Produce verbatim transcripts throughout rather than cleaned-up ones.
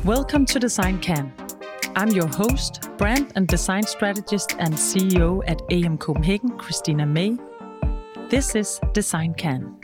Welcome to Design Can. I'm your host, brand and design strategist and C E O at A M Copenhagen, Christina May. This is Design Can.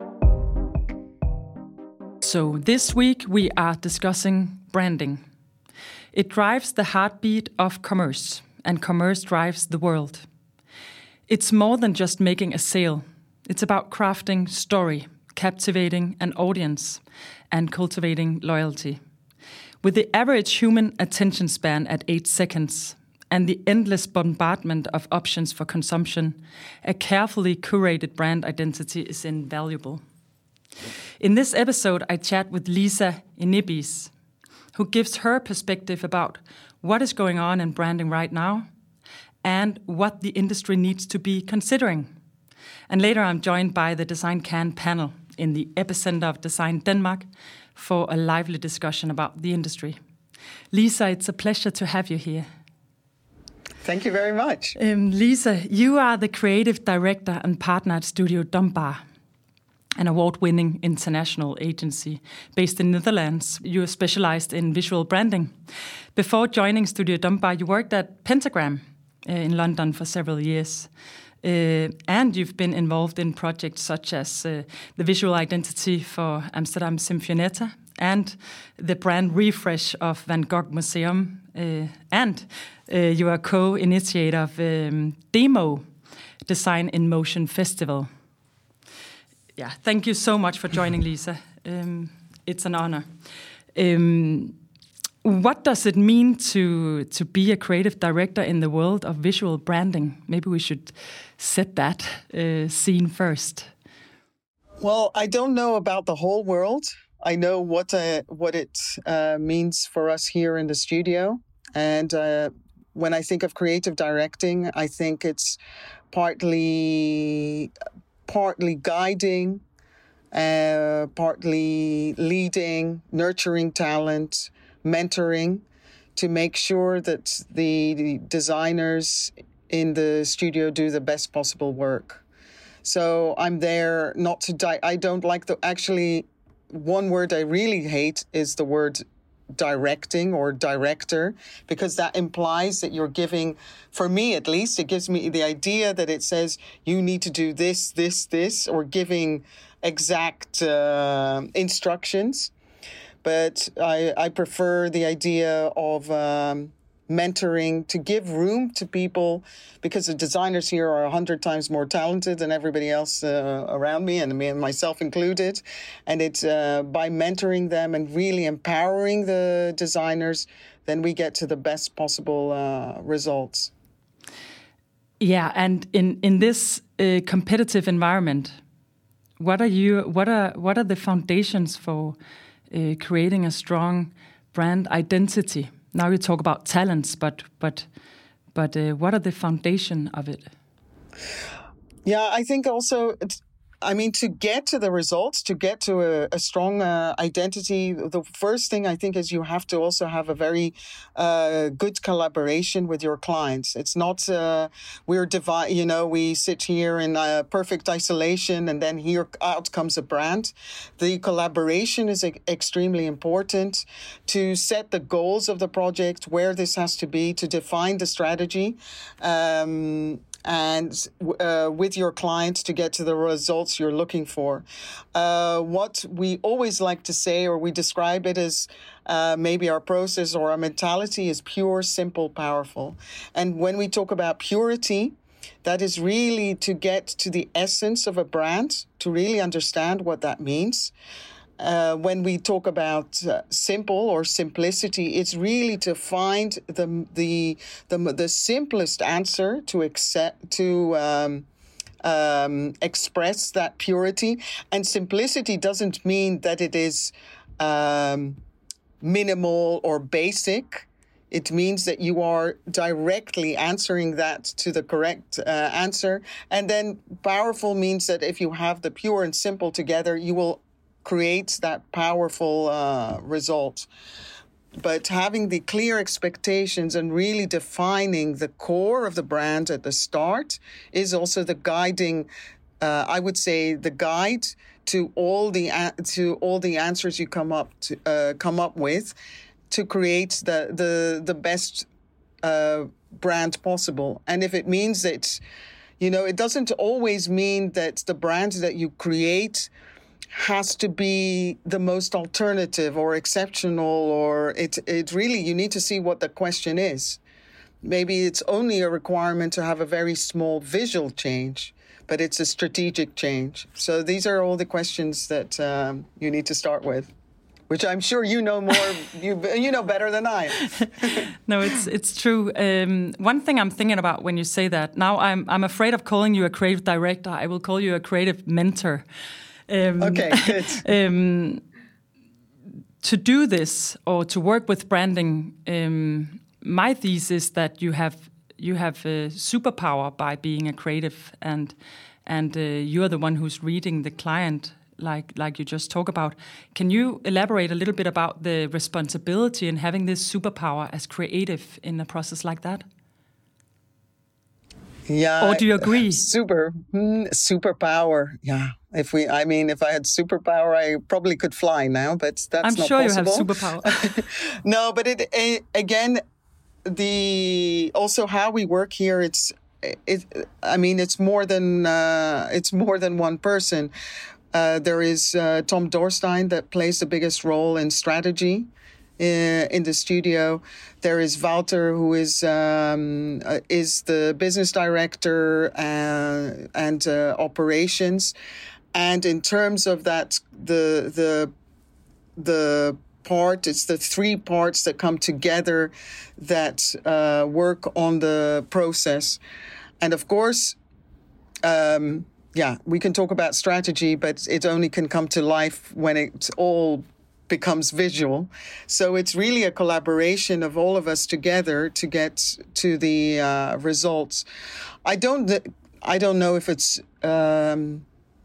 So this week we are discussing branding. It drives the heartbeat of commerce, and commerce drives the world. It's more than just making a sale. It's about crafting story, captivating an audience, and cultivating loyalty. With the average human attention span at eight seconds and the endless bombardment of options for consumption, a carefully curated brand identity is invaluable. In this episode, I chat with Lisa Inibis, who gives her perspective about what is going on in branding right now and what the industry needs to be considering. And later I'm joined by the Design Can panel in the epicenter of Design Denmark for a lively discussion about the industry. Lisa, it's a pleasure to have you here. Thank you very much. Um, Lisa, you are the creative director and partner at Studio Dumbar, an award-winning international agency based in Netherlands. You are specialized in visual branding. Before joining Studio Dumbar, you worked at Pentagram uh, in London for several years. Uh, and you've been involved in projects such as uh, the visual identity for Amsterdam Symfonietta and the brand refresh of Van Gogh Museum. Uh, and uh, you are co-initiator of um, Demo, Design in Motion Festival. Yeah, thank you so much for joining, Lisa. Um, it's an honor. Um, What does it mean to to be a creative director in the world of visual branding? Maybe we should set that uh, scene first. Well, I don't know about the whole world. I know what uh, what it uh, means for us here in the studio. And uh, when I think of creative directing, I think it's partly partly guiding, uh, partly leading, nurturing talent, mentoring to make sure that the, the designers in the studio do the best possible work. So I'm there not to di- I don't like the actually one word I really hate is the word directing or director, because that implies that you're giving, for me at least, it gives me the idea that it says you need to do this, this, this, or giving exact uh, instructions. But I, I prefer the idea of um, mentoring, to give room to people, because the designers here are a hundred times more talented than everybody else uh, around me, and me and myself included. And it's uh, by mentoring them and really empowering the designers, then we get to the best possible uh, results. Yeah, and in in this uh, competitive environment, what are you? What are what are the foundations for Uh, creating a strong brand identity? Now you talk about talents, but but but uh, what are the foundation of it? Yeah, I think also, it's, I mean, to get to the results, to get to a, a strong uh, identity, the first thing I think is you have to also have a very uh, good collaboration with your clients. It's not uh, we're divi- you know, we sit here in uh, perfect isolation and then here out comes a brand. The collaboration is e- extremely important to set the goals of the project, where this has to be, to define the strategy. Um, and uh, with your clients to get to the results you're looking for. Uh, what we always like to say, or we describe it as uh, maybe our process or our mentality is pure, simple, powerful. And when we talk about purity, that is really to get to the essence of a brand, to really understand what that means. Uh, when we talk about uh, simple or simplicity, it's really to find the the the, the simplest answer to accept to um, um, express that purity. And simplicity doesn't mean that it is um, minimal or basic. It means that you are directly answering that to the correct uh, answer. And then powerful means that if you have the pure and simple together, you will create that powerful uh, result. But having the clear expectations and really defining the core of the brand at the start is also the guiding, uh, I would say, the guide to all the to all the answers you come up to uh, come up with. to create the the the best uh, brand possible. And if it means that, you know, it doesn't always mean that the brand that you create has to be the most alternative or exceptional, or it it really, you need to see what the question is. Maybe it's only a requirement to have a very small visual change, but it's a strategic change. So these are all the questions that um, you need to start with, which I'm sure you know more, you you know better than I. No, it's it's true. Um, one thing I'm thinking about when you say that, now I'm I'm afraid of calling you a creative director. I will call you a creative mentor. Um, okay, good. um, to do this or to work with branding, um, my thesis that you have you have a superpower by being a creative, and and uh, you're the one who's reading the client, like like you just talk about. Can you elaborate a little bit about the responsibility in having this superpower as creative in a process like that? Yeah. Or do you agree? Super, mm, superpower. Yeah. If we, I mean, if I had superpower, I probably could fly now, but that's I'm not sure possible. You have superpower. No, but it, it again, the also how we work here. It's it. I mean, it's more than uh, it's more than one person. Uh, there is uh, Tom Dorstein that plays the biggest role in strategy in, in the studio. There is Wouter, who is um, uh, is the business director uh, and uh, operations. And in terms of that, the the the part, it's the three parts that come together that uh, work on the process. And of course, um, yeah, we can talk about strategy, but it only can come to life when it all becomes visual. So it's really a collaboration of all of us together to get to the uh, results. I don't, I don't know if it's, um,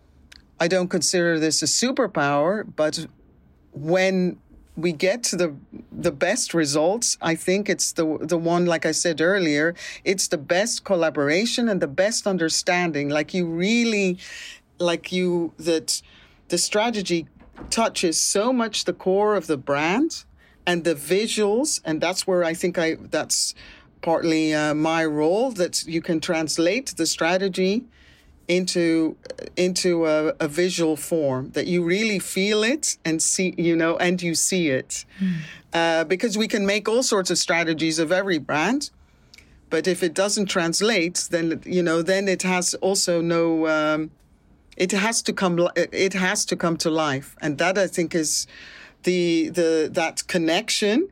I don't consider this a superpower, but when we get to the the best results, I think it's the the one, like I said earlier, it's the best collaboration and the best understanding. Like you really, like you, that the strategy touches so much the core of the brand and the visuals, and that's where I think I that's partly uh, my role, that you can translate the strategy into into a, a visual form, that you really feel it and see, you know, and you see it. Mm. Uh, because we can make all sorts of strategies of every brand, but if it doesn't translate, then, you know, then it has also no, um, it has to come, it has to come to life. And that, I think, is the, the, that connection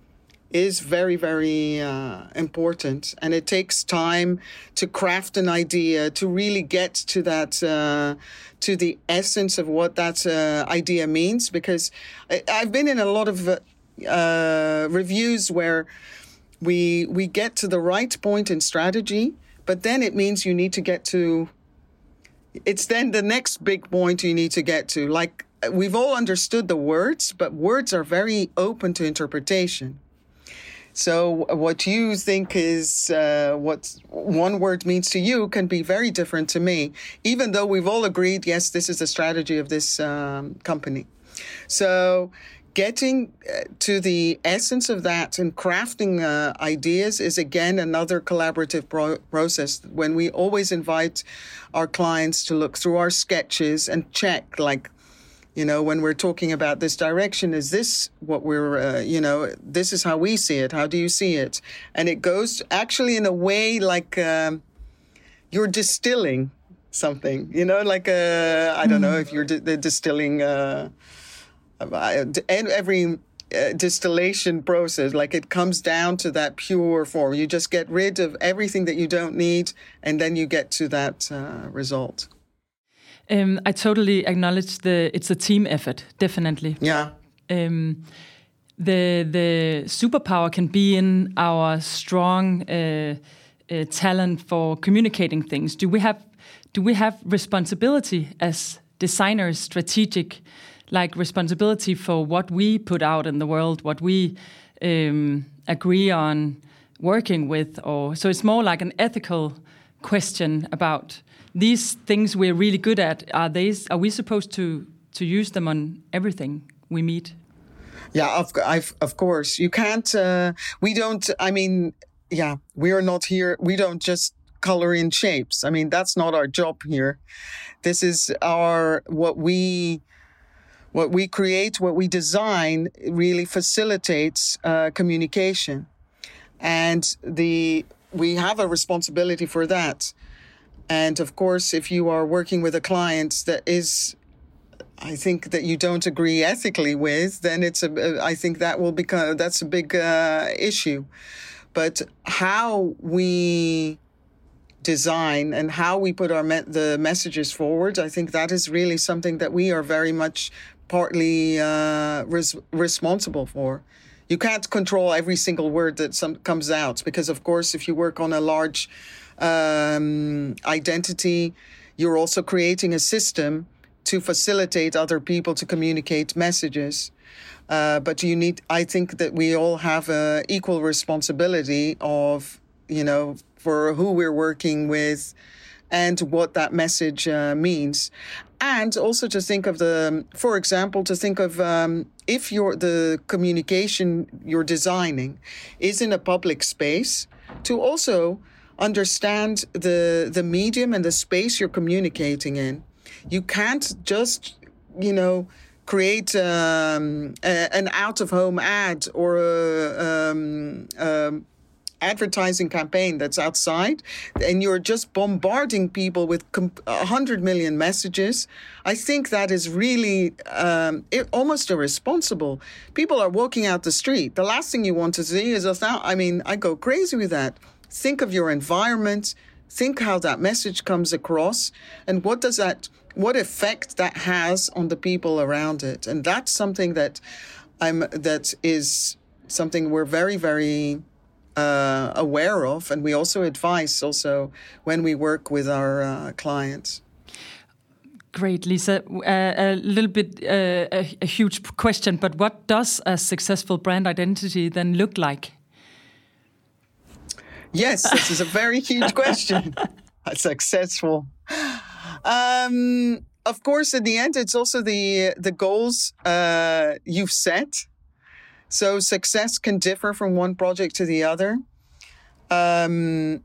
is very, very uh, important. And it takes time to craft an idea, to really get to that, uh, to the essence of what that uh, idea means. Because I, I've been in a lot of uh, reviews where we we get to the right point in strategy, but then it means you need to get to, it's then the next big point you need to get to. Like, we've all understood the words, but words are very open to interpretation. So what you think is uh, what one word means to you can be very different to me, even though we've all agreed, yes, this is the strategy of this um, company. So getting to the essence of that and crafting uh, ideas is, again, another collaborative pro- process when we always invite our clients to look through our sketches and check, like, you know, when we're talking about this direction, is this what we're, uh, you know, this is how we see it. How do you see it? And it goes actually in a way like um, you're distilling something, you know, like, uh, I don't know if you're di- distilling uh, every uh, distillation process, like it comes down to that pure form. You just get rid of everything that you don't need, and then you get to that uh, result. Um, I totally acknowledge the it's a team effort, definitely. Yeah. Um, the the superpower can be in our strong uh, uh, talent for communicating things. Do we have do we have responsibility as designers, strategic, like responsibility for what we put out in the world, what we um, agree on working with, or so it's more like an ethical question about these things we're really good at. Are they? Are we supposed to to use them on everything we meet? Yeah, of, I've, of course. You can't, uh, we don't, I mean, yeah, we are not here. We don't just color in shapes. I mean, that's not our job here. This is our, what we, what we create, what we design really facilitates uh, communication. And the, we have a responsibility for that. And of course, if you are working with a client that is, I think that you don't agree ethically with, then it's a, I think that will become, that's a big uh, issue. But how we design and how we put our me- the messages forward, I think that is really something that we are very much partly uh, res- responsible for. You can't control every single word that some comes out because, of course, if you work on a large um, identity, you're also creating a system to facilitate other people to communicate messages. Uh, but you need, I think that we all have a equal responsibility of, you know, for who we're working with and what that message uh, means. And also to think of the, for example, to think of um, if you're, the communication you're designing is in a public space, to also understand the the medium and the space you're communicating in. You can't just, you know, create um, a, an out-of-home ad or a um, um, advertising campaign that's outside, and you're just bombarding people with a hundred million messages. I think that is really um, it, almost irresponsible. People are walking out the street. The last thing you want to see is a thousand. I mean, I go crazy with that. Think of your environment. Think how that message comes across, and what does that, what effect that has on the people around it. And that's something that I'm that is something we're very, very uh, aware of, and we also advise also when we work with our uh, clients. Great, Lisa. Uh, a little bit uh, a, a huge question, but what does a successful brand identity then look like? Yes, this is a very huge question. Successful. Um, of course, in the end, it's also the the goals uh, you've set. So success can differ from one project to the other. Um,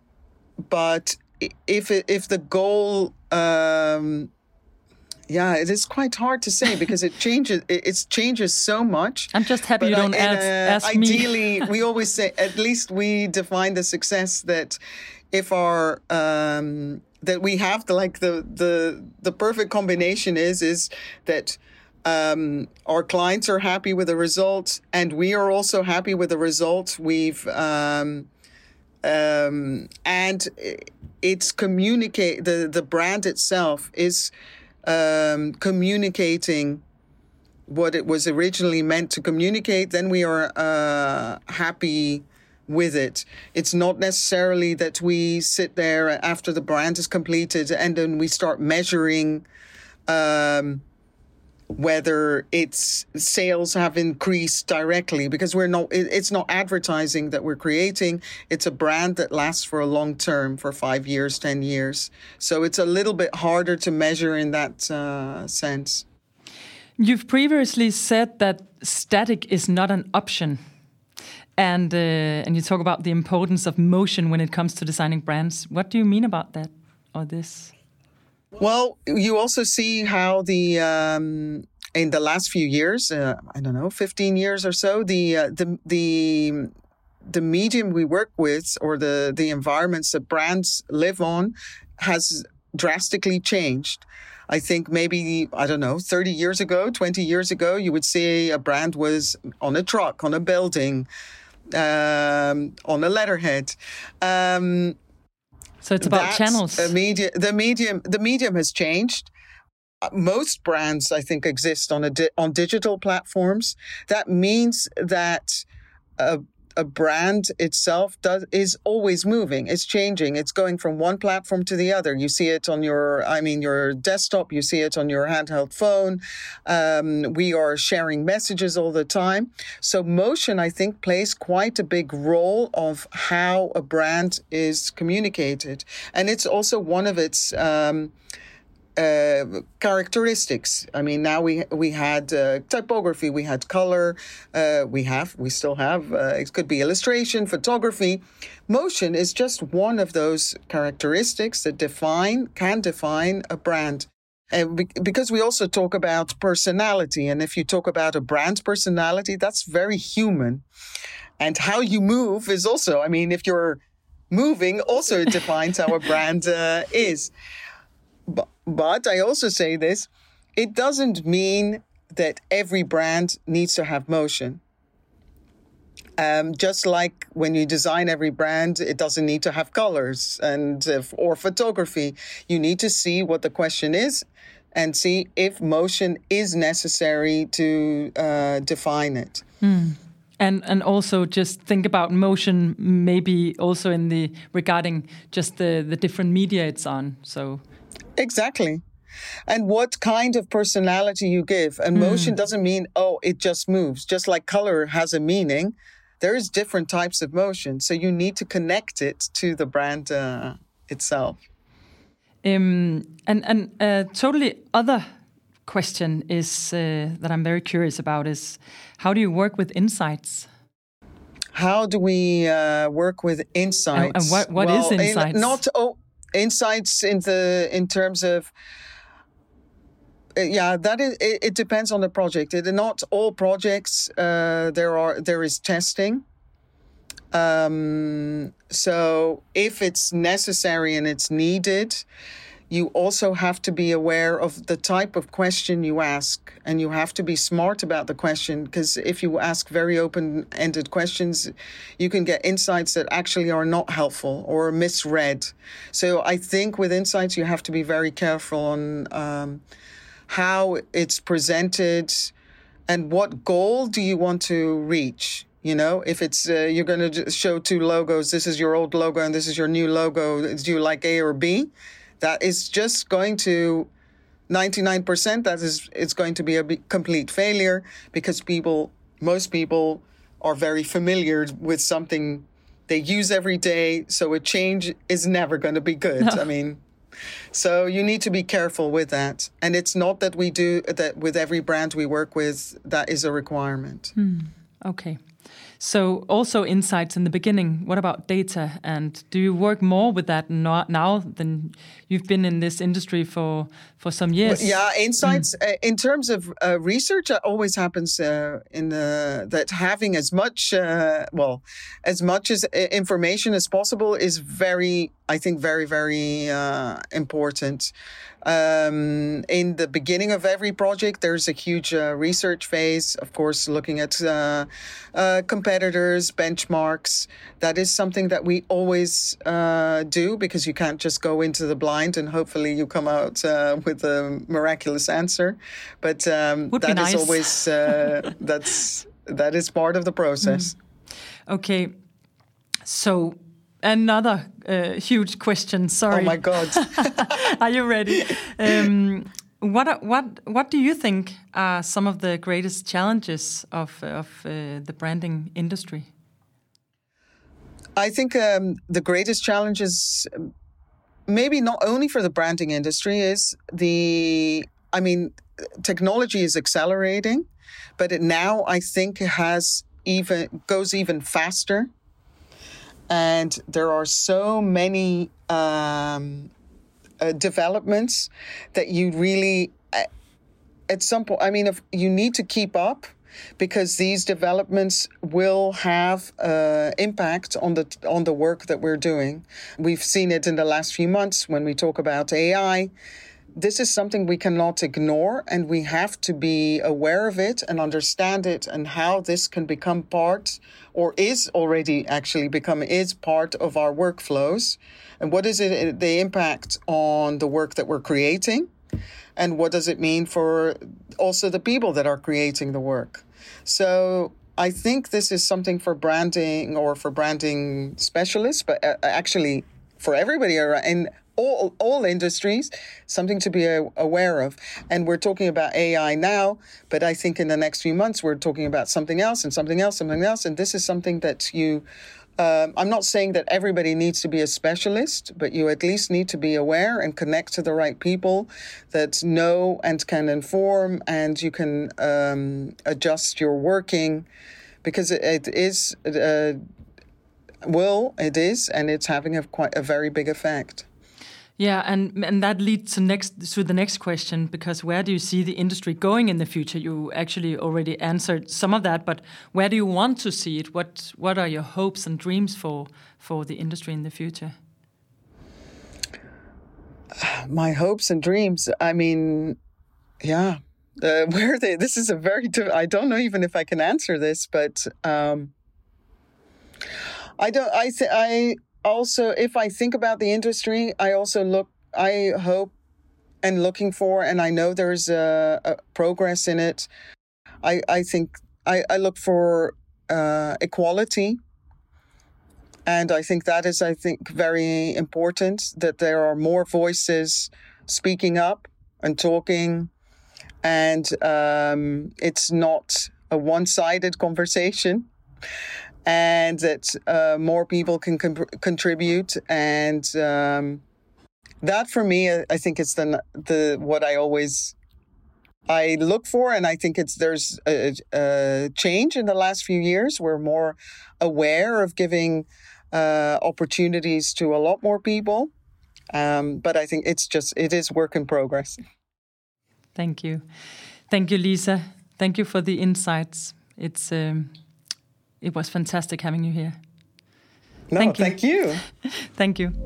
but if it, if the goal, um, yeah, it is quite hard to say because it changes. It, it changes so much. I'm just happy but you don't I, ask, uh, ask me. Ideally, we always say at least we define the success that if our um, that we have the like the the the perfect combination is is that. Um, our clients are happy with the result, and we are also happy with the result. We've um, um, and it's communicate the the brand itself is um, communicating what it was originally meant to communicate. Then we are uh, happy with it. It's not necessarily that we sit there after the brand is completed and then we start measuring. Um, whether its sales have increased directly, because we're not, it's not advertising that we're creating. It's a brand that lasts for a long term, for five years, ten years. So it's a little bit harder to measure in that uh, sense. You've previously said that static is not an option. And, uh, and you talk about the importance of motion when it comes to designing brands. What do you mean about that or this? Well, you also see how the um, in the last few years, uh, I don't know, fifteen years or so, the uh, the the the medium we work with or the the environments that brands live on has drastically changed. I think maybe, I don't know, thirty years ago, twenty years ago, you would say a brand was on a truck, on a building, um, on a letterhead. Um, So it's about That's channels. A media, the medium, the medium has changed. Uh, most brands, I think, exist on a di- on digital platforms. That means that a, a brand itself does is always moving. It's changing. It's going from one platform to the other. You see it on your, I mean, your desktop. You see it on your handheld phone. Um, we are sharing messages all the time. So motion, I think, plays quite a big role of how a brand is communicated, and it's also one of its. Um, uh, characteristics. I mean, now we we had uh, typography, we had color, uh, we have, we still have, uh, it could be illustration, photography. Motion is just one of those characteristics that define, can define a brand. And be- because we also talk about personality. And if you talk about a brand personality, that's very human. And how you move is also, I mean, if you're moving, also defines how a brand uh, is. But, but I also say this, it doesn't mean that every brand needs to have motion. Um, just like when you design every brand, it doesn't need to have colors and uh, or photography. You need to see what the question is and see if motion is necessary to uh, define it. Hmm. And and also just think about motion, maybe also in the regarding just the, the different media it's on. So exactly. And what kind of personality you give. And mm. motion doesn't mean, oh, it just moves. Just like color has a meaning, there's different types of motion. So you need to connect it to the brand uh, itself. Um, and and a totally other question is uh, that I'm very curious about is, how do you work with insights? How do we uh, work with insights? And, and what, what well, is insights? In, not oh, insights in the in terms of uh, yeah, that is it, it depends on the project. It, not all projects uh, there are there is testing. Um, so if it's necessary and it's needed, you also have to be aware of the type of question you ask, and you have to be smart about the question, because if you ask very open-ended questions, you can get insights that actually are not helpful or misread. So I think with insights, you have to be very careful on um, how it's presented and what goal do you want to reach. You know, if it's uh, you're going to show two logos, this is your old logo and this is your new logo, do you like A or B? That is just going to, ninety-nine percent, that is, it's going to be a complete failure, because people, most people are very familiar with something they use every day. So a change is never going to be good. No. I mean, so you need to be careful with that. And it's not that we do that with every brand we work with, that is a requirement. Hmm. Okay. So also insights in the beginning. What about data? And do you work more with that now than you've been in this industry for, for some years? Well, yeah, insights mm. uh, in terms of uh, research uh, always happens uh, in uh, that having as much uh, well as much as information as possible is very, I think, very very uh, important. Um, in the beginning of every project, there's a huge uh, research phase, of course, looking at uh, uh, competitors, benchmarks. That is something that we always uh, do, because you can't just go into the blind and hopefully you come out uh, with a miraculous answer. But um, Would that be nice. is always, uh, that's, that is part of the process. Mm. Okay. So another uh, huge question. Sorry. Oh my God! Are you ready? Um, what what what do you think are some of the greatest challenges of of uh, the branding industry? I think um, the greatest challenges, maybe not only for the branding industry, is the. I mean, technology is accelerating, but it now I think has even goes even faster. And there are so many um, uh, developments that you really, uh, at some point, I mean, if you need to keep up, because these developments will have uh, impact on the on the work that we're doing. We've seen it in the last few months when we talk about A I. This is something we cannot ignore, and we have to be aware of it and understand it, and how this can become part, or is already actually become, is part of our workflows. And what is it, the impact on the work that we're creating? And what does it mean for also the people that are creating the work? So I think this is something for branding or for branding specialists, but actually for everybody around. All, all industries, something to be a, aware of. And we're talking about A I now, but I think in the next few months, we're talking about something else and something else, something else. And this is something that you Um, I'm not saying that everybody needs to be a specialist, but you at least need to be aware and connect to the right people that know and can inform, and you can um, adjust your working, because it, it is, uh, well, it is, and it's having a quite a very big effect. Yeah, and and that leads to next to the next question, because where do you see the industry going in the future? You actually already answered some of that, but where do you want to see it? What what are your hopes and dreams for for the industry in the future? My hopes and dreams. I mean, yeah, uh, where are they? This is a very. I don't know even if I can answer this, but um, I don't. I th- I. Also, if I think about the industry, I also look, I hope and looking for, and I know there's a, a progress in it. I, I think I, I look for uh, equality. And I think that is, I think, very important, that there are more voices speaking up and talking. And um, it's not a one-sided conversation. And that uh, more people can com- contribute, and um, that for me, I think it's the the what I always I look for, and I think it's there's a, a change in the last few years. We're more aware of giving uh, opportunities to a lot more people, um, but I think it's just it is work in progress. Thank you, thank you, Lisa. Thank you for the insights. It's. Um It was fantastic having you here. No, thank you. Thank you. Thank you.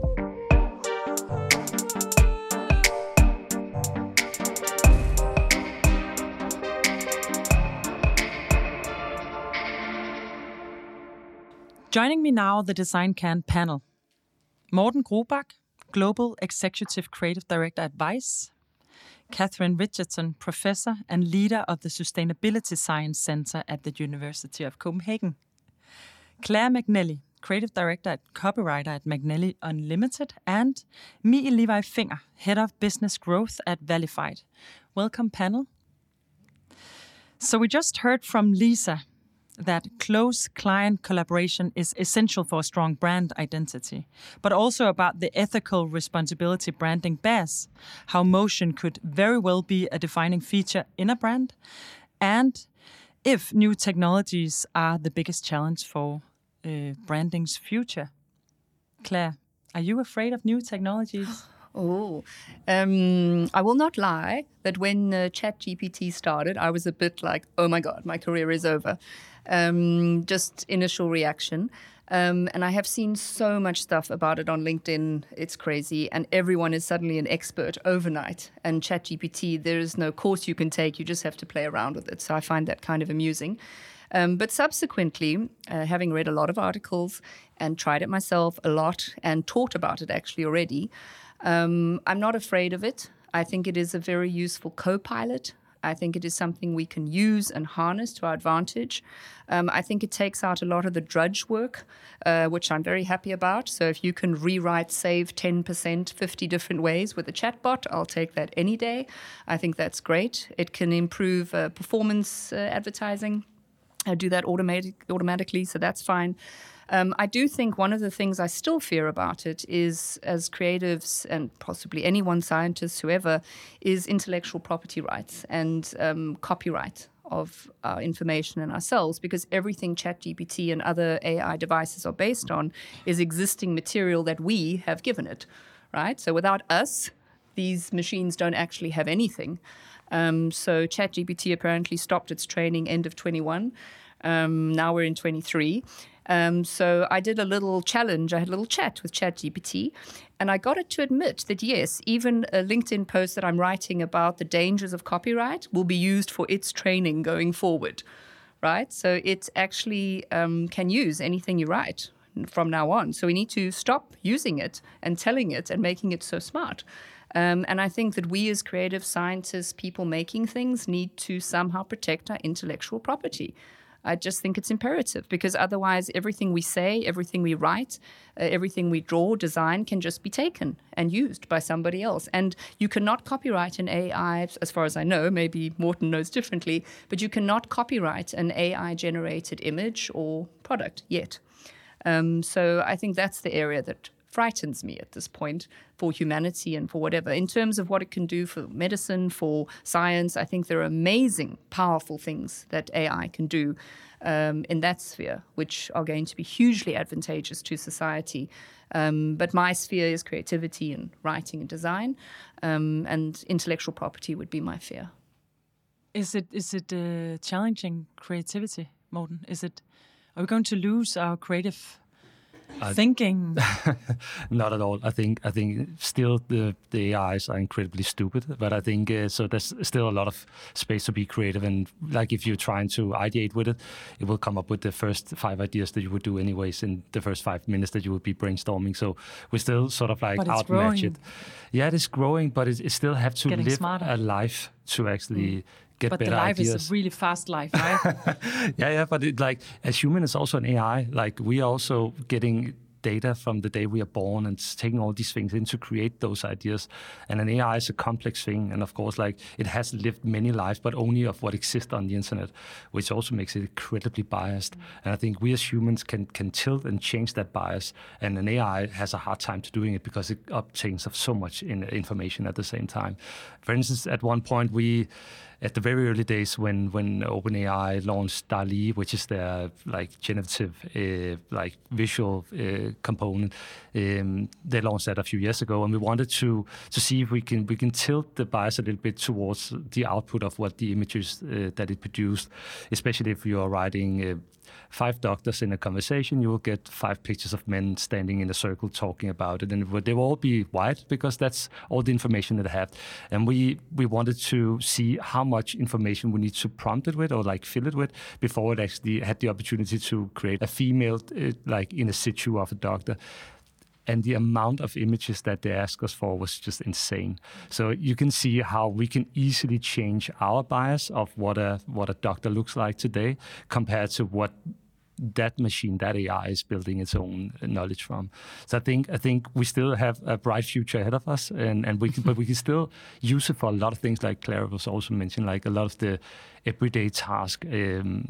Joining me now, the Design Can panel. Morten Grobak, Global Executive Creative Director at Vice. Catherine Richardson, Professor and Leader of the Sustainability Science Center at the University of Copenhagen. Claire McNally, Creative Director at Copywriter at McNally Unlimited, and Mie Levi Finger, Head of Business Growth at Valified. Welcome, panel. So we just heard from Lisa that close client collaboration is essential for a strong brand identity, but also about the ethical responsibility branding bears, how motion could very well be a defining feature in a brand, and if new technologies are the biggest challenge for uh, branding's future. Claire, are you afraid of new technologies? Oh, um, I will not lie that when uh, ChatGPT started, I was a bit like, oh my God, my career is over. Um, just initial reaction. Um, and I have seen so much stuff about it on LinkedIn. It's crazy. And everyone is suddenly an expert overnight. And ChatGPT, there is no course you can take. You just have to play around with it. So I find that kind of amusing. Um, but subsequently, uh, having read a lot of articles and tried it myself a lot and taught about it actually already, um, I'm not afraid of it. I think it is a very useful co-pilot. I think it is something we can use and harness to our advantage. Um, I think it takes out a lot of the drudge work, uh, which I'm very happy about. So if you can rewrite, save ten percent, fifty different ways with a chatbot, I'll take that any day. I think that's great. It can improve uh, performance uh, advertising. I do that automatic, automatically, so that's fine. Um, I do think one of the things I still fear about it is, as creatives and possibly anyone, scientists, whoever, is intellectual property rights and um, copyright of our information and ourselves, because everything ChatGPT and other A I devices are based on is existing material that we have given it, right? So without us, these machines don't actually have anything. Um, so ChatGPT apparently stopped its training end of twenty-one. Um, now we're in twenty-three. Um, so I did a little challenge. I had a little chat with ChatGPT, and I got it to admit that, yes, even a LinkedIn post that I'm writing about the dangers of copyright will be used for its training going forward, right? So it actually um, can use anything you write from now on. So we need to stop using it and telling it and making it so smart. Um, and I think that we as creative scientists, people making things, need to somehow protect our intellectual property. I just think it's imperative, because otherwise everything we say, everything we write, uh, everything we draw, design can just be taken and used by somebody else. And you cannot copyright an A I, as far as I know, maybe Morten knows differently, but you cannot copyright an A I-generated image or product yet. Um, so I think that's the area that frightens me at this point for humanity and for whatever. In terms of what it can do for medicine, for science, I think there are amazing, powerful things that A I can do um, in that sphere, which are going to be hugely advantageous to society. Um, but my sphere is creativity and writing and design, um, and intellectual property would be my fear. Is it is it uh, challenging creativity, Morten? Is it? Are we going to lose our creative Uh, thinking? Not at all. I think I think still the the A Is are incredibly stupid, but I think uh, so. There's still a lot of space to be creative, and like if you're trying to ideate with it, it will come up with the first five ideas that you would do anyways in the first five minutes that you would be brainstorming. So we still sort of like outmatch it. Yeah, it is growing, but it, it still have to Getting live smarter. a life to actually. Mm. Get but better the life ideas. is a really fast life, right? yeah, yeah, but it, like as human, it's also an A I. Like we are also getting data from the day we are born and taking all these things in to create those ideas. And an A I is a complex thing, and of course, like it has lived many lives, but only of what exists on the internet, which also makes it incredibly biased. Mm. And I think we as humans can can tilt and change that bias. And an A I has a hard time to doing it because it obtains of so much in information at the same time. For instance, at one point we. At the very early days, when when OpenAI launched DALL-E, which is their like generative uh, like visual uh, component, um, they launched that a few years ago, and we wanted to to see if we can we can tilt the bias a little bit towards the output of what the images uh, that it produced, especially if you are writing. Uh, Five doctors in a conversation, you will get five pictures of men standing in a circle talking about it, and they will all be white because that's all the information that I have. And we we wanted to see how much information we need to prompt it with, or like fill it with, before it actually had the opportunity to create a female, uh, like in a situ of a doctor. And the amount of images that they asked us for was just insane. So you can see how we can easily change our bias of what a what a doctor looks like today compared to what that machine, that A I is building its own knowledge from. So I think I think we still have a bright future ahead of us, and, and we can, but we can still use it for a lot of things, like Clara was also mentioning, like a lot of the everyday tasks. Um,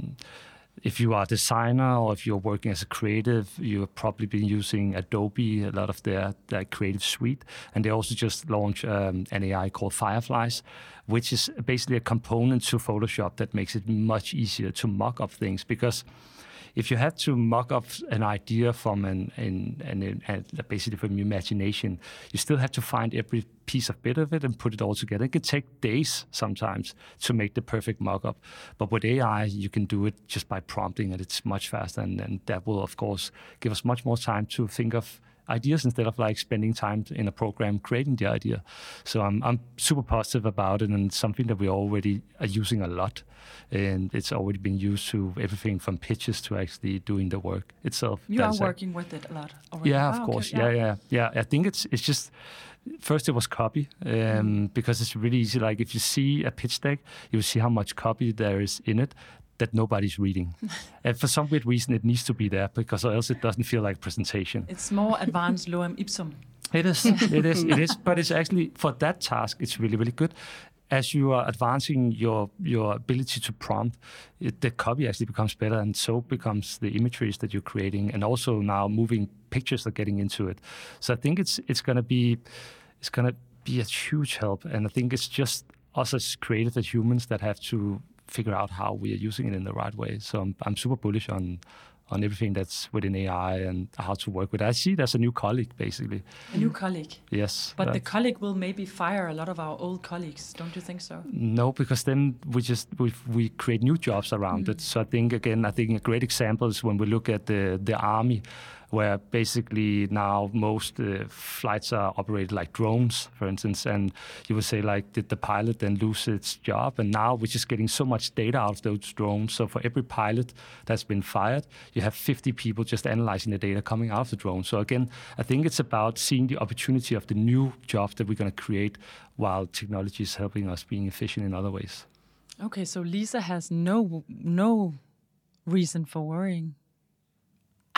If you are a designer or if you're working as a creative, you have probably been using Adobe, a lot of their, their creative suite. And they also just launched um, an A I called Fireflies, which is basically a component to Photoshop that makes it much easier to mock up things. Because if you have to mock up an idea from an, an, an, an basically from your imagination, you still have to find every piece of bit of it and put it all together. It can take days sometimes to make the perfect mock-up. But with A I, you can do it just by prompting it. It's much faster, and, and that will, of course, give us much more time to think of ideas instead of like spending time in a program creating the idea. So I'm I'm super positive about it, and something that we already are using a lot. And it's already been used to everything from pitches to actually doing the work itself. You That's are working it. with it a lot already. Yeah, of oh, course. Okay. Yeah, yeah, yeah. I think it's it's just first it was copy um, mm. because it's really easy. Like if you see a pitch deck, you will see how much copy there is in it that nobody's reading. And for some weird reason, it needs to be there because or else it doesn't feel like presentation. It's more advanced lorem ipsum. It is, it is, it is. But it's actually, for that task, it's really, really good. As you are advancing your your ability to prompt, it, the copy actually becomes better, and so becomes the imageries that you're creating, and also now moving pictures are getting into it. So I think it's it's going to be it's going to be a huge help, and I think it's just us as creative as humans that have to figure out how we are using it in the right way. So I'm, I'm super bullish on on everything that's within A I and how to work with it. I see it as a new colleague, basically. A new colleague? Yes. But the colleague will maybe fire a lot of our old colleagues, don't you think so? No, because then we just we, we create new jobs around mm. it. So I think, again, I think a great example is when we look at the, the army, where basically now most uh, flights are operated like drones, for instance, and you would say, like, did the pilot then lose its job? And now we're just getting so much data out of those drones. So for every pilot that's been fired, you have fifty people just analyzing the data coming out of the drone. So again, I think it's about seeing the opportunity of the new jobs that we're going to create while technology is helping us being efficient in other ways. Okay, so Lisa has no no reason for worrying.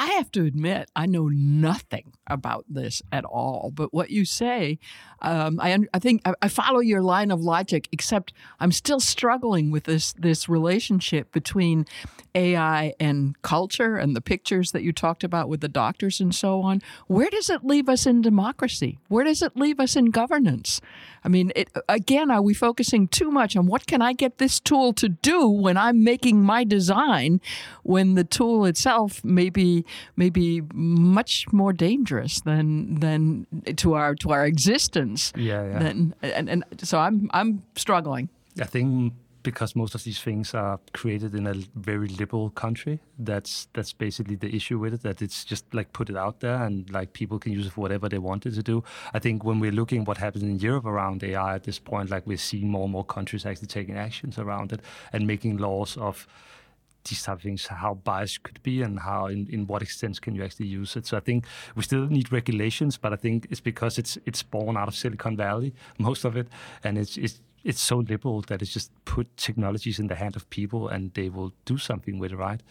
I have to admit, I know nothing about this at all. But what you say, um, I I think I, I follow your line of logic. Except I'm still struggling with this this relationship between A I and culture and the pictures that you talked about with the doctors and so on. Where does it leave us in democracy? Where does it leave us in governance? I mean, it, again, are we focusing too much on what can I get this tool to do when I'm making my design, when the tool itself may be, may be much more dangerous than than to our to our existence? Yeah, yeah. Than, and, and so I'm I'm struggling. I think because most of these things are created in a very liberal country, that's that's basically the issue with it, that it's just like put it out there and like people can use it for whatever they want it to do. I think when we're looking what happens in Europe around A I at this point, like we're seeing more and more countries actually taking actions around it and making laws of these type of things, how biased could be and how in, in what extent can you actually use it. So I think we still need regulations, but I think it's because it's it's born out of Silicon Valley, most of it, and it's it's it's so liberal that it's just put technologies in the hand of people and they will do something with it, right?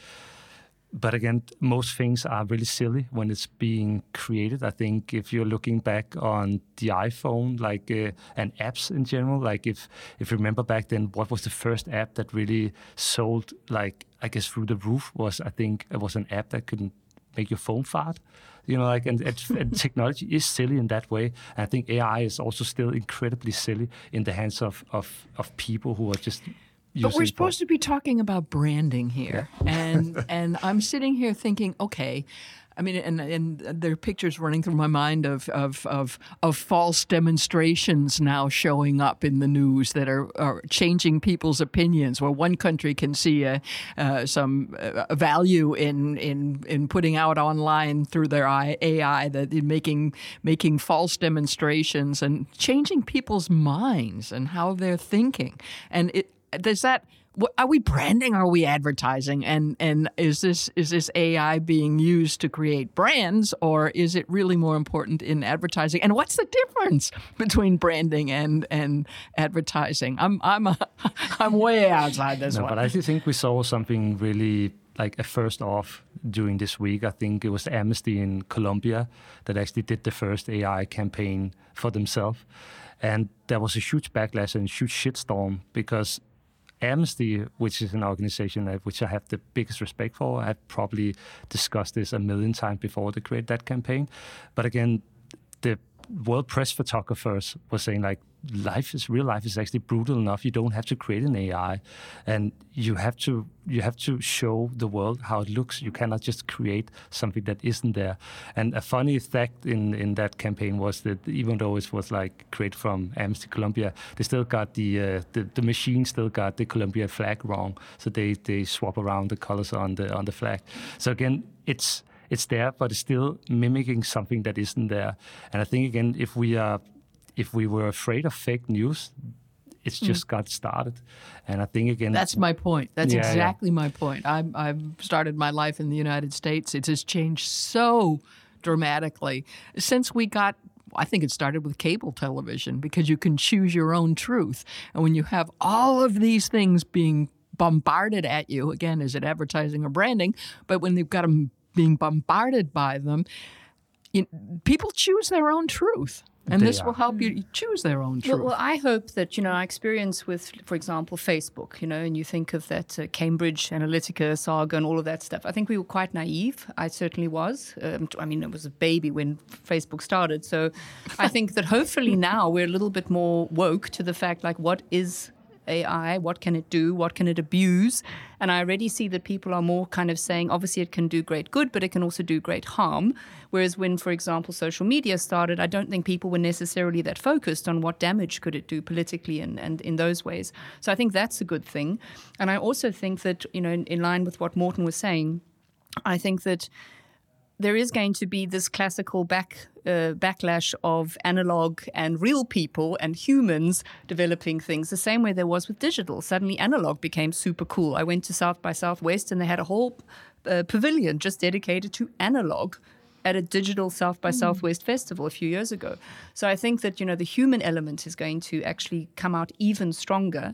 But again, most things are really silly when it's being created. I think if you're looking back on the iPhone, like uh, and apps in general, like if if you remember back then, what was the first app that really sold, like I guess through the roof, was I think it was an app that could make your phone fart. You know, like and, and, and technology is silly in that way. And I think A I is also still incredibly silly in the hands of of, of people who are just. But we're supposed to be talking about branding here, yeah. and and I'm sitting here thinking, okay, I mean, and and there are pictures running through my mind of of of, of false demonstrations now showing up in the news that are, are changing people's opinions. Where one country can see a, uh, some uh, value in in in putting out online through their A I that in making making false demonstrations and changing people's minds and how they're thinking, and it. Does that? Are we branding? Are we advertising? And and is this is this A I being used to create brands, or is it really more important in advertising? And what's the difference between branding and and advertising? I'm I'm a, I'm way outside this no, one. But I actually think we saw something really like a first off during this week. I think it was Amnesty in Colombia that actually did the first A I campaign for themselves, and there was a huge backlash and a huge shitstorm because Amnesty, which is an organization that, which I have the biggest respect for, I've probably discussed this a million times before they created that campaign. But again, the world press photographers were saying like, life is real life is actually brutal enough. You don't have to create an A I, and you have to you have to show the world how it looks. You cannot just create something that isn't there. And a funny fact in, in that campaign was that even though it was like created from Amnesty Colombia, they still got the uh, the, the machine still got the Colombian flag wrong. So they they swap around the colors on the on the flag. So again, it's it's there, but it's still mimicking something that isn't there. And I think again, if we are If we were afraid of fake news, it's just mm. got started. And I think, again... That's my point. That's yeah, exactly yeah. my point. I'm, I've started my life in the United States. It has changed so dramatically since we got... I think it started with cable television because you can choose your own truth. And when you have all of these things being bombarded at you, again, is it advertising or branding? But when they've got them being bombarded by them, you, people choose their own truth. And this will help you choose their own truth. Well, well, I hope that, you know, our experience with, for example, Facebook, you know, and you think of that uh, Cambridge Analytica saga and all of that stuff. I think we were quite naive. I certainly was. Um, I mean, I was a baby when Facebook started. So I think that hopefully now we're a little bit more woke to the fact, like, what is A I? What can it do? What can it abuse? And I already see that people are more kind of saying, obviously it can do great good, but it can also do great harm. Whereas when, for example, social media started, I don't think people were necessarily that focused on what damage could it do politically and, and in those ways. So I think that's a good thing. And I also think that, you know, in, in line with what Morten was saying, I think that there is going to be this classical back uh, backlash of analog and real people and humans developing things, the same way there was with digital. Suddenly analog became super cool. I went to South by Southwest and they had a whole uh, pavilion just dedicated to analog at a digital South by Southwest festival a few years ago. So I think that, you know, the human element is going to actually come out even stronger.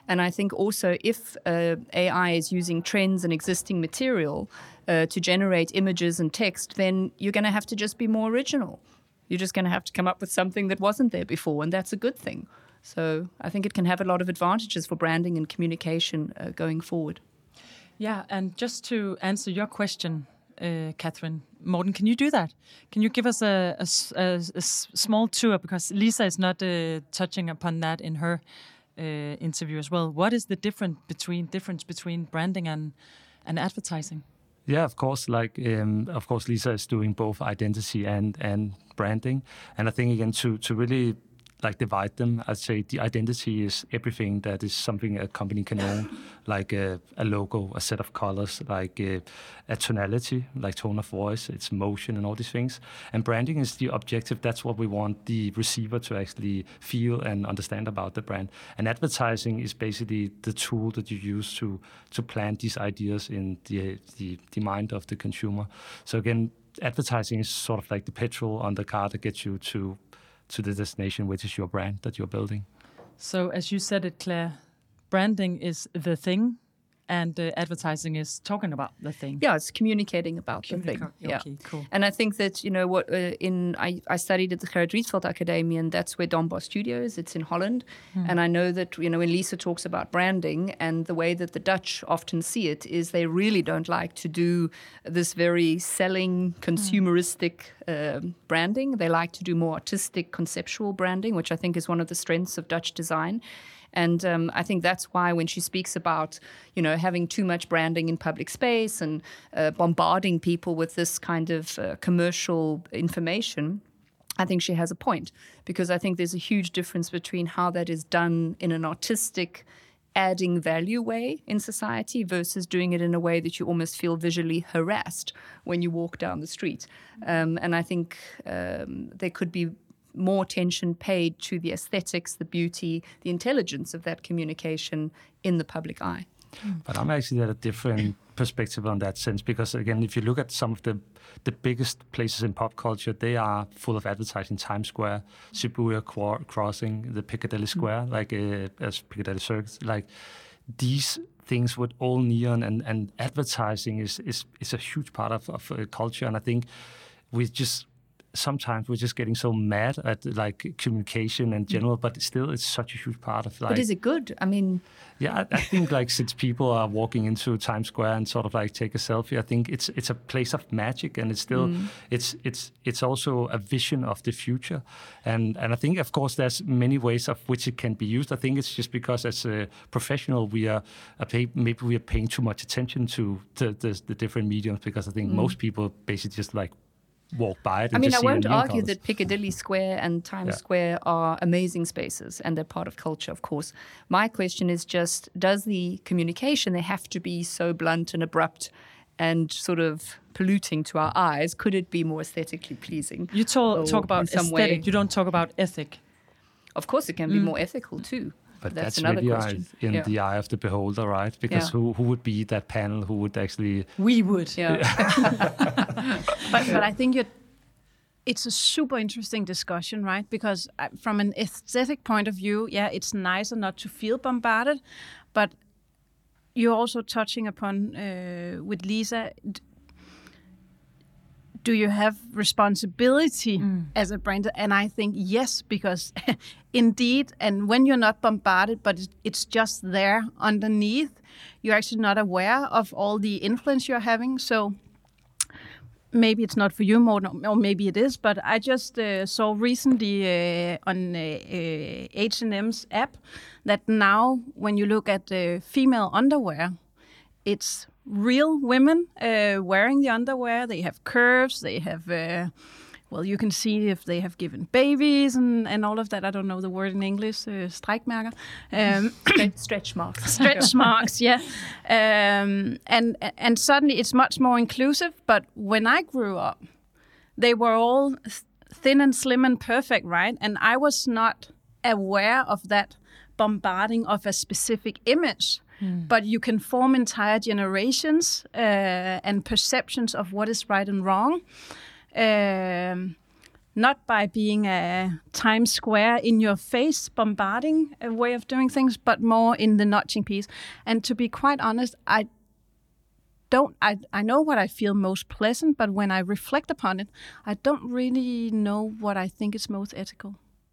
And I think also if uh, A I is using trends and existing material uh, to generate images and text, then you're going to have to just be more original. You're just going to have to come up with something that wasn't there before, and that's a good thing. So I think it can have a lot of advantages for branding and communication uh, going forward. Yeah, and just to answer your question, uh, Catherine, Morten, can you do that? Can you give us a, a, a, a small tour? Because Lisa is not uh, touching upon that in her uh, interview as well. What is the difference between difference between branding and, and advertising? Yeah, of course. Like, um, of course, Lisa is doing both identity and and branding, and I think again to to really like divide them, I'd say the identity is everything that is something a company can own, like a, a logo, a set of colors, like a, a tonality, like tone of voice, its motion, and all these things. And branding is the objective. That's what we want the receiver to actually feel and understand about the brand. And advertising is basically the tool that you use to to plant these ideas in the the, the mind of the consumer. So again, advertising is sort of like the petrol on the car that gets you to to the destination, which is your brand that you're building. So as you said it, Claire, branding is the thing, and uh, advertising is talking about the thing. Yeah, it's communicating about Communic- the thing. okay, Yeah, cool. And I think that, you know, what uh, in I, I studied at the Gerrit Rietveld Academy, and that's where Don Bosch Studio is. It's in Holland. Mm. And I know that, you know, when Lisa talks about branding, and the way that the Dutch often see it is they really don't like to do this very selling, consumeristic mm. uh, branding. They like to do more artistic, conceptual branding, which I think is one of the strengths of Dutch design. And um, I think that's why when she speaks about, you know, having too much branding in public space and uh, bombarding people with this kind of uh, commercial information, I think she has a point. Because I think there's a huge difference between how that is done in an artistic, adding value way in society versus doing it in a way that you almost feel visually harassed when you walk down the street. Um, and I think um, there could be more attention paid to the aesthetics, the beauty, the intelligence of that communication in the public eye. But I'm actually at a different perspective on that sense, because again, if you look at some of the the biggest places in pop culture, they are full of advertising. Times Square, Shibuya Qu- Crossing, the Piccadilly Square, mm. like uh, as Piccadilly Circus, like these things with all neon and, and advertising is, is is a huge part of, of uh, culture. And I think we just sometimes we're just getting so mad at like communication in general, but still it's such a huge part of like. But is it good? I mean, yeah, I, I think like since people are walking into Times Square and sort of like take a selfie, I think it's it's a place of magic, and it's still mm. it's it's it's also a vision of the future, and and I think of course there's many ways of which it can be used. I think it's just because as a professional we are, are pay, maybe we are paying too much attention to the the, the different mediums, because I think mm. most people basically just like walk by it. And I mean, just I see won't argue colors. that Piccadilly Square and Times yeah. Square are amazing spaces, and they're part of culture, of course. My question is just, does the communication, they have to be so blunt and abrupt and sort of polluting to our eyes? Could it be more aesthetically pleasing? You talk, talk about aesthetic, way? You don't talk about ethic. Of course, it can be mm. more ethical too. But that's, that's another really question. in yeah. the eye of the beholder, right? Because yeah. who who would be that panel who would actually... We would. Yeah. but, but I think you're, it's a super interesting discussion, right? Because from an aesthetic point of view, yeah, it's nicer not to feel bombarded. But you're also touching upon, uh, with Lisa, do you have responsibility mm. as a brand? And I think yes, because indeed, and when you're not bombarded, but it's just there underneath, you're actually not aware of all the influence you're having. So maybe it's not for you, Morten, or maybe it is, but I just uh, saw recently uh, on uh, uh, H and M's app that now when you look at uh, female underwear, it's real women uh, wearing the underwear. They have curves, they have, uh, well, you can see if they have given babies and, and all of that. I don't know the word in English, uh, strækmærker. Um, stretch marks. Stretch marks, yeah. Um, and, and suddenly it's much more inclusive. But when I grew up, they were all thin and slim and perfect, right? And I was not aware of that bombarding of a specific image. Hmm. But you can form entire generations uh, and perceptions of what is right and wrong. Um, not by being a Times Square in your face bombarding a way of doing things, but more in the nudging piece. And to be quite honest, I don't I, I know what I feel most pleasant, but when I reflect upon it, I don't really know what I think is most ethical.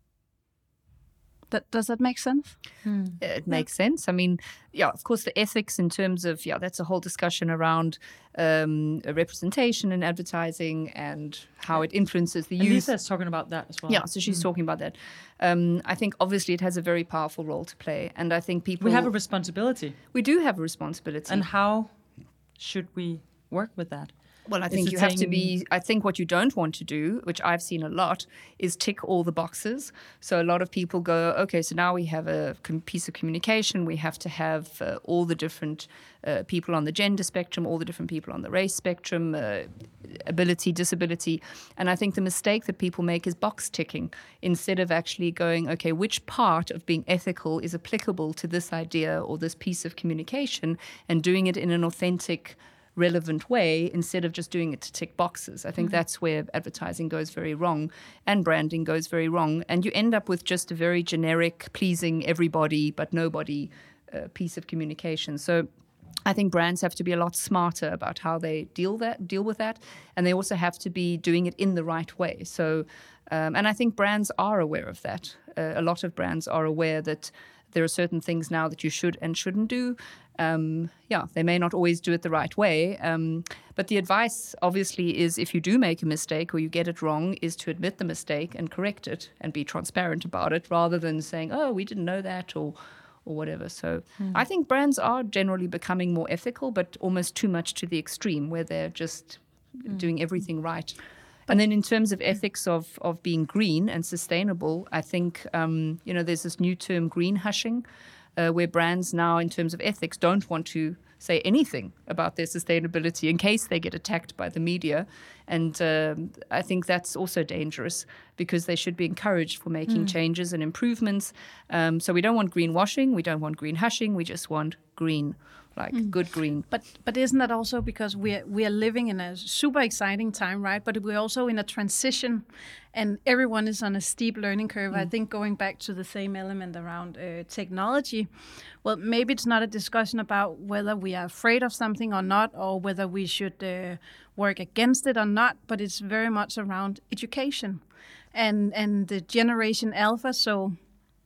That, does that make sense? Hmm. It makes sense. I mean, yeah, of course, the ethics in terms of, yeah, that's a whole discussion around um, representation in advertising and how it influences the and youth. Lisa's talking about that as well. Yeah, so she's mm. talking about that. Um, I think obviously it has a very powerful role to play. And I think people... We have a responsibility. We do have a responsibility. And how should we work with that? Well, I think you have to be, I think what you don't want to do, which I've seen a lot, is tick all the boxes. So a lot of people go, okay, so now we have a piece of communication. We have to have uh, all the different uh, people on the gender spectrum, all the different people on the race spectrum, uh, ability, disability. And I think the mistake that people make is box ticking instead of actually going, okay, which part of being ethical is applicable to this idea or this piece of communication, and doing it in an authentic, relevant way instead of just doing it to tick boxes. I think mm-hmm. that's where advertising goes very wrong and branding goes very wrong. And you end up with just a very generic, pleasing everybody but nobody uh, piece of communication. So I think brands have to be a lot smarter about how they deal that deal with that, and they also have to be doing it in the right way. So, um, and I think brands are aware of that. Uh, a lot of brands are aware that there are certain things now that you should and shouldn't do. Um, yeah, they may not always do it the right way. Um, but the advice, obviously, is if you do make a mistake or you get it wrong, is to admit the mistake and correct it and be transparent about it, rather than saying, oh, we didn't know that, or or whatever. So mm. I think brands are generally becoming more ethical, but almost too much to the extreme, where they're just mm. doing everything right. And then in terms of ethics of, of being green and sustainable, I think, um, you know, there's this new term, green hushing, uh, where brands now, in terms of ethics, don't want to say anything about their sustainability in case they get attacked by the media. And um, I think that's also dangerous, because they should be encouraged for making mm. changes and improvements. Um, so we don't want greenwashing, we don't want green hushing, we just want green. Like mm. good green. But but isn't that also because we are, we are living in a super exciting time, right? But we're also in a transition, and everyone is on a steep learning curve. Mm. I think going back to the same element around uh, technology, well, maybe it's not a discussion about whether we are afraid of something or not, or whether we should uh, work against it or not, but it's very much around education and, and the generation alpha, so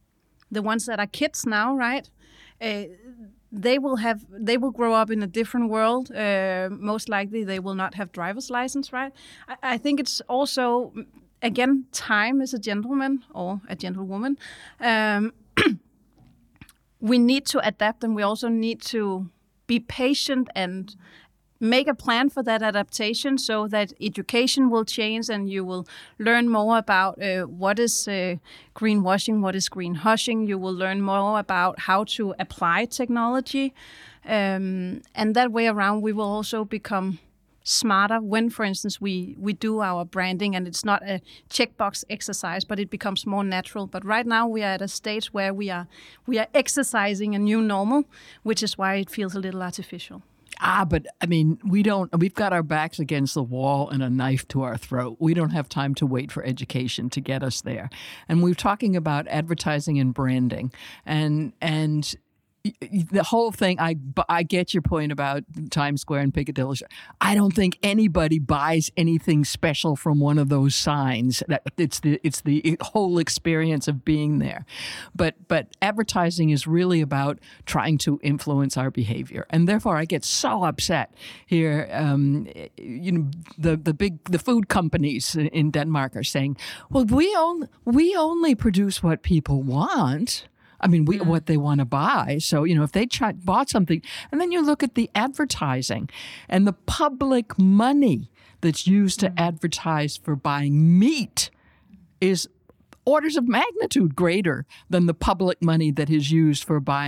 the ones that are kids now, right? Uh, They will have. They will grow up in a different world. Uh, most likely, they will not have driver's license, right? I, I think it's also, again, time is a gentleman or a gentlewoman. Um, we need to adapt, and we also need to be patient and make a plan for that adaptation, so that education will change and you will learn more about uh, what is uh, greenwashing, what is green hushing. You will learn more about how to apply technology. Um, and that way around, we will also become smarter when, for instance, we, we do our branding, and it's not a checkbox exercise, but it becomes more natural. But right now we are at a stage where we are we are exercising a new normal, which is why it feels a little artificial. Ah, but I mean, we don't, we've got our backs against the wall and a knife to our throat. We don't have time to wait for education to get us there. And we're talking about advertising and branding, and, and the whole thing, I, I get your point about Times Square and Piccadilly. I don't think anybody buys anything special from one of those signs. That it's the it's the whole experience of being there. But but advertising is really about trying to influence our behavior, and therefore I get so upset here. Um, you know, the the big the food companies in Denmark are saying, well, we only we only produce what people want. I mean, we, mm. what they want to buy. So, you know, if they ch- bought something, and then you look at the advertising and the public money that's used to mm. advertise for buying meat is orders of magnitude greater than the public money that is used for buying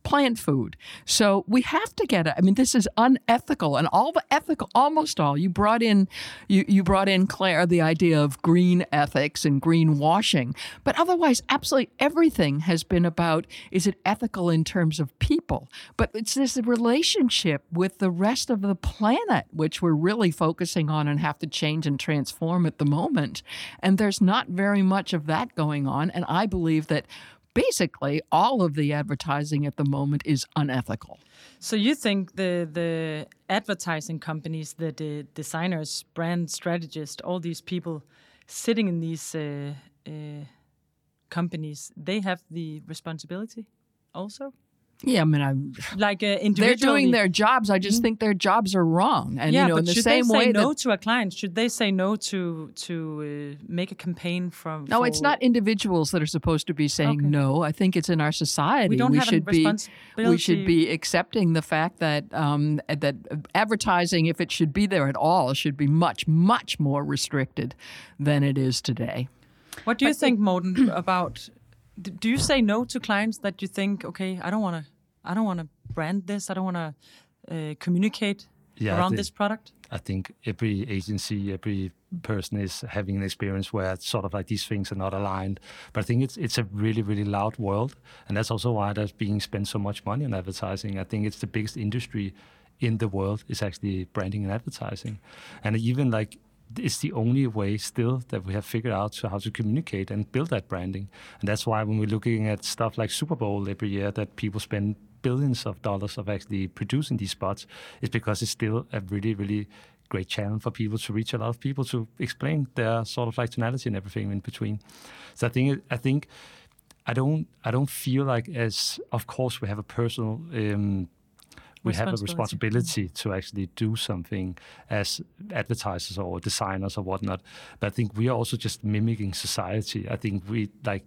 plant food. So we have to get it. I mean, this is unethical, and all the ethical, almost all. You brought in, you, you brought in, Claire, the idea of green ethics and greenwashing. But otherwise, absolutely everything has been about, is it ethical in terms of people? But it's this relationship with the rest of the planet, which we're really focusing on and have to change and transform at the moment. And there's not very much of that going on. And I believe that basically all of the advertising at the moment is unethical. So you think the the advertising companies, the, the designers, brand strategists, all these people sitting in these uh, uh, companies, they have the responsibility also? Yeah, I mean, I'm like uh, individually. They're doing their jobs. I just mm-hmm. think their jobs are wrong. And yeah, you know, but in the should same they say way no that, to a client? Should they say no to to uh, make a campaign from? No, for, it's not individuals that are supposed to be saying okay. no. I think it's in our society. We don't we have should a be responsibility. we should be accepting the fact that um, that advertising, if it should be there at all, should be much much more restricted than it is today. What do you but think, Morten, about? Do you say no to clients that you think, okay, I don't want to. I don't want to brand this. I don't want to uh, communicate yeah, around think, this product. I think every agency, every person is having an experience where it's sort of like these things are not aligned. But I think it's it's a really, really loud world. And that's also why there's being spent so much money on advertising. I think it's the biggest industry in the world is actually branding and advertising. And even like it's the only way still that we have figured out to how to communicate and build that branding. And that's why when we're looking at stuff like Super Bowl every year that people spend billions of dollars of actually producing these spots, is because it's still a really, really great channel for people to reach a lot of people to explain their sort of like tonality and everything in between. So I think I think I don't I don't feel like, as of course we have a personal um, we have a responsibility to actually do something as advertisers or designers or whatnot. But I think we are also just mimicking society. I think we like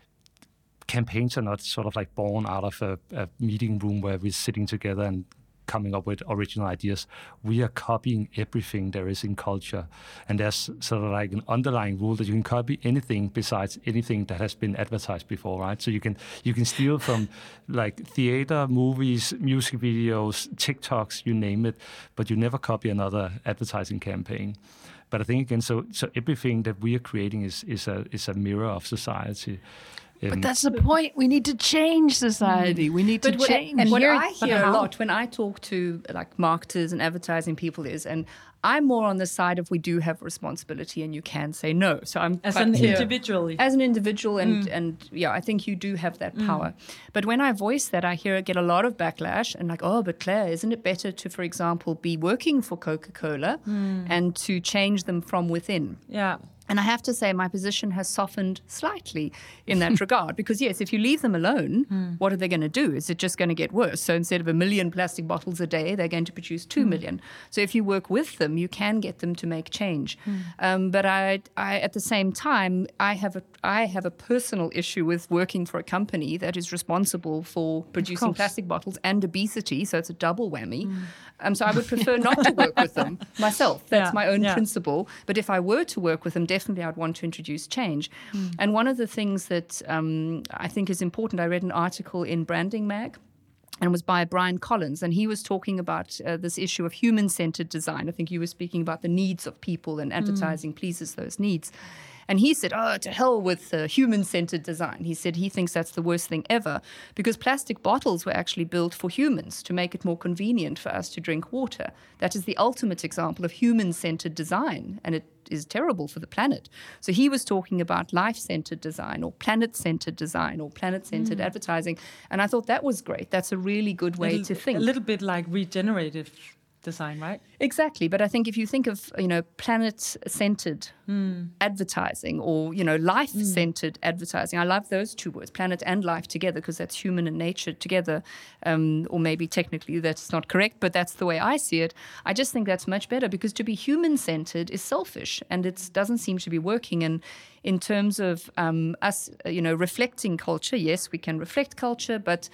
campaigns are not sort of like born out of a, a meeting room where we're sitting together and coming up with original ideas. We are copying everything there is in culture. And there's sort of like an underlying rule that you can copy anything besides anything that has been advertised before, right? So you can you can steal from like theater, movies, music videos, TikToks, you name it, but you never copy another advertising campaign. But I think again, so so everything that we are creating is is a is a mirror of society. Um, but that's the point. We need to change society. We need to but change. What, and what here, I hear a lot when I talk to like marketers and advertising people is, and I'm more on the side of we do have responsibility and you can say no. So I'm as an individual, as an individual, and mm. and yeah, I think you do have that mm. power. But when I voice that, I hear get a lot of backlash and like, oh, but Claire, isn't it better to, for example, be working for Coca-Cola mm. and to change them from within? Yeah. And I have to say my position has softened slightly in that regard because, yes, if you leave them alone, mm. what are they going to do? Is it just going to get worse? So instead of a million plastic bottles a day, they're going to produce two mm. million. So if you work with them, you can get them to make change. Mm. Um, but I, I, at the same time, I have a, I have a personal issue with working for a company that is responsible for producing plastic bottles and obesity. So it's a double whammy. Mm. Um, so I would prefer not to work with them myself. That's yeah, my own yeah. principle. But if I were to work with them, definitely I'd want to introduce change. Mm. And one of the things that um, I think is important, I read an article in Branding Mag, and it was by Brian Collins, and he was talking about uh, this issue of human-centered design. I think you were speaking about the needs of people, and advertising mm. pleases those needs. And he said, oh, to hell with uh, human-centered design. He said he thinks that's the worst thing ever because plastic bottles were actually built for humans to make it more convenient for us to drink water. That is the ultimate example of human-centered design, and it is terrible for the planet. So he was talking about life-centered design or planet-centered design or planet-centered mm. advertising. And I thought that was great. That's a really good way little, to think. A little bit like regenerative design, right? Exactly. But I think if you think of, you know, planet-centered mm. advertising or, you know, life-centered mm. advertising, I love those two words, planet and life together, because that's human and nature together. Um, or maybe technically that's not correct, but that's the way I see it. I just think that's much better because to be human-centered is selfish and it doesn't seem to be working. And in terms of um, us, you know, reflecting culture, yes, we can reflect culture, but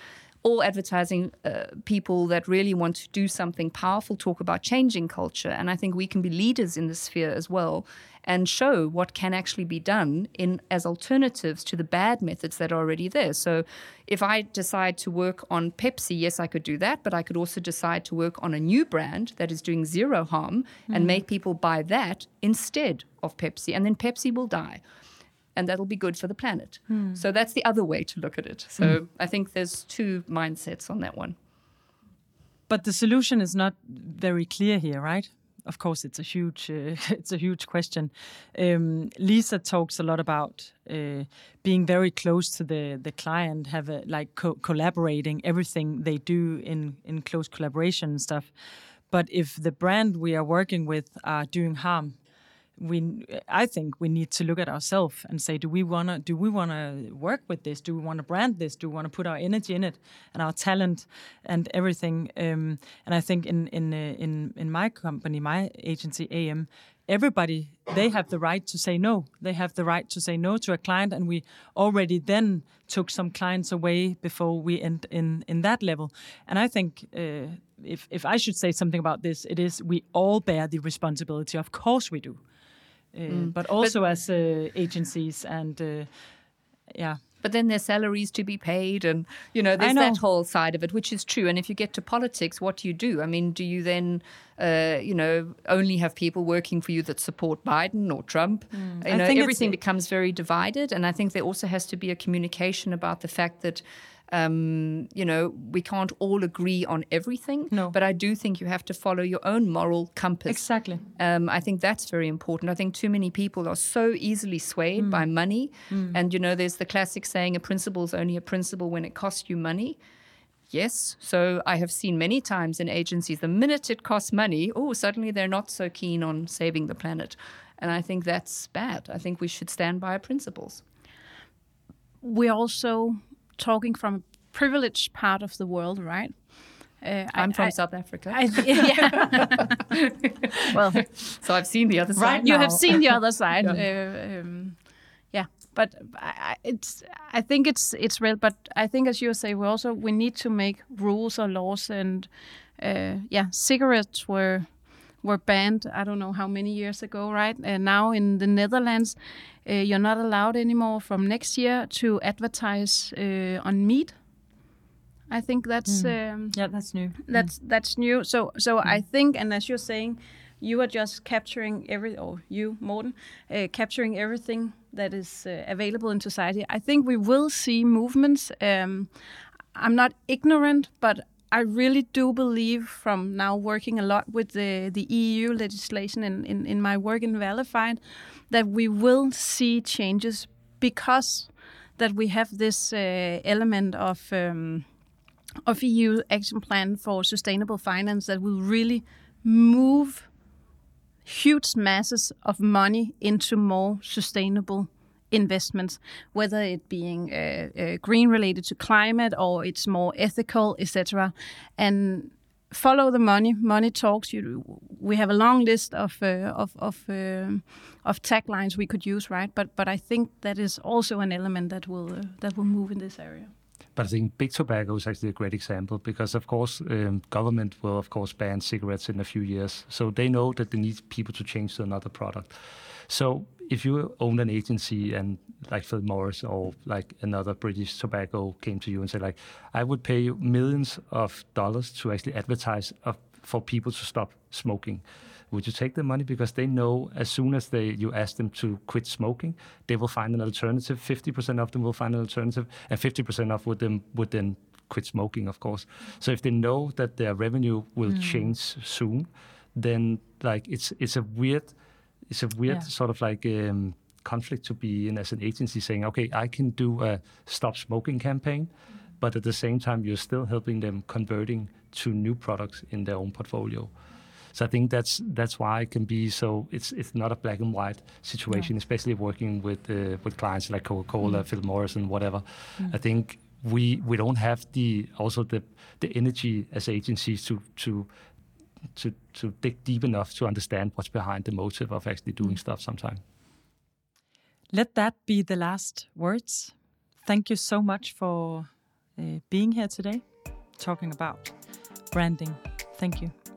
all advertising uh, people that really want to do something powerful talk about changing culture. And I think we can be leaders in this sphere as well and show what can actually be done in as alternatives to the bad methods that are already there. So if I decide to work on Pepsi, yes, I could do that, but I could also decide to work on a new brand that is doing zero harm mm. and make people buy that instead of Pepsi. And then Pepsi will die. And that'll be good for the planet. Mm. So that's the other way to look at it. So mm. I think there's two mindsets on that one. But the solution is not very clear here, right? Of course, it's a huge, uh, it's a huge question. Um, Lisa talks a lot about uh, being very close to the, the client, have a, like co- collaborating everything they do in, in close collaboration and stuff. But if the brand we are working with are doing harm, we, I think we need to look at ourselves and say, do we wanna, do we wanna work with this? Do we wanna brand this? Do we wanna put our energy in it and our talent and everything? Um, and I think in in uh, in in my company, my agency A M, everybody, they have the right to say no. They have the right to say no to a client, and we already then took some clients away before we end in in that level. And I think. Uh, If if I should say something about this, it is we all bear the responsibility. Of course we do, uh, mm. but also but, as uh, agencies and uh, yeah. But then there's salaries to be paid, and you know there's know. that whole side of it, which is true. And if you get to politics, what do you do? I mean, do you then uh, you know only have people working for you that support Biden or Trump? Mm. You I know, think everything becomes very divided, and I think there also has to be a communication about the fact that. Um, you know, we can't all agree on everything, no. but I do think you have to follow your own moral compass. Exactly. Um, I think that's very important. I think too many people are so easily swayed mm. by money. Mm. And, you know, there's the classic saying, a principle is only a principle when it costs you money. Yes. So I have seen many times in agencies, the minute it costs money, oh, suddenly they're not so keen on saving the planet. And I think that's bad. I think we should stand by our principles. We also... talking from a privileged part of the world, right? Uh, I'm I, from I, South Africa. I, yeah. Well, so I've seen the other side. Right, you have seen the other side. yeah. Uh, um, yeah, but I, it's. I think it's it's real. But I think, as you say, we also we need to make rules or laws. And uh, yeah, cigarettes were were banned. I don't know how many years ago, right? And now in the Netherlands. Uh, you're not allowed anymore from next year to advertise uh, on meat. I think that's mm. um, yeah, that's new. That's mm. that's new. So so mm. I think, and as you're saying, you are just capturing every, or you, Morten, uh, capturing everything that is uh, available in society. I think we will see movements. Um, I'm not ignorant, but I really do believe, from now working a lot with the the E U legislation in in, in my work in Valified, that we will see changes because that we have this uh, element of um, of E U action plan for sustainable finance that will really move huge masses of money into more sustainable investments, whether it being uh, uh, green related to climate or it's more ethical, et cetera. And follow the money. Money talks. You, we have a long list of uh, of of, uh, of taglines we could use, right? But but I think that is also an element that will uh, that will move in this area. But I think big tobacco is actually a great example because, of course, um, government will, of course, ban cigarettes in a few years. So they know that they need people to change to another product. So if you own an agency and like Philip Morris or like another British tobacco came to you and said, like, I would pay you millions of dollars to actually advertise uh, for people to stop smoking. Would you take the money? Because they know as soon as they you ask them to quit smoking, they will find an alternative. fifty percent of them will find an alternative, and fifty percent of them would then quit smoking, of course. So if they know that their revenue will mm. change soon, then like it's it's a weird it's a weird yeah. sort of like um, conflict to be in as an agency, saying, okay, I can do a stop smoking campaign, but at the same time you're still helping them converting to new products in their own portfolio. So I think that's that's why it can be so. It's it's not a black and white situation, no. especially working with uh, with clients like Coca-Cola, mm. Philip Morris, and whatever. Mm. I think we we don't have the also the the energy as agencies to to to to dig deep enough to understand what's behind the motive of actually doing mm. stuff. Sometimes. Let that be the last words. Thank you so much for uh, being here today. talking about branding. Thank you.